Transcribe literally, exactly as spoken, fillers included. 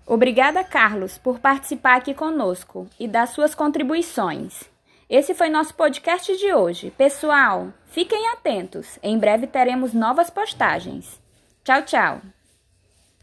Obrigada, Carlos, por participar aqui conosco e dar suas contribuições. Esse foi nosso podcast de hoje. Pessoal, fiquem atentos. Em breve teremos novas postagens. Tchau, tchau.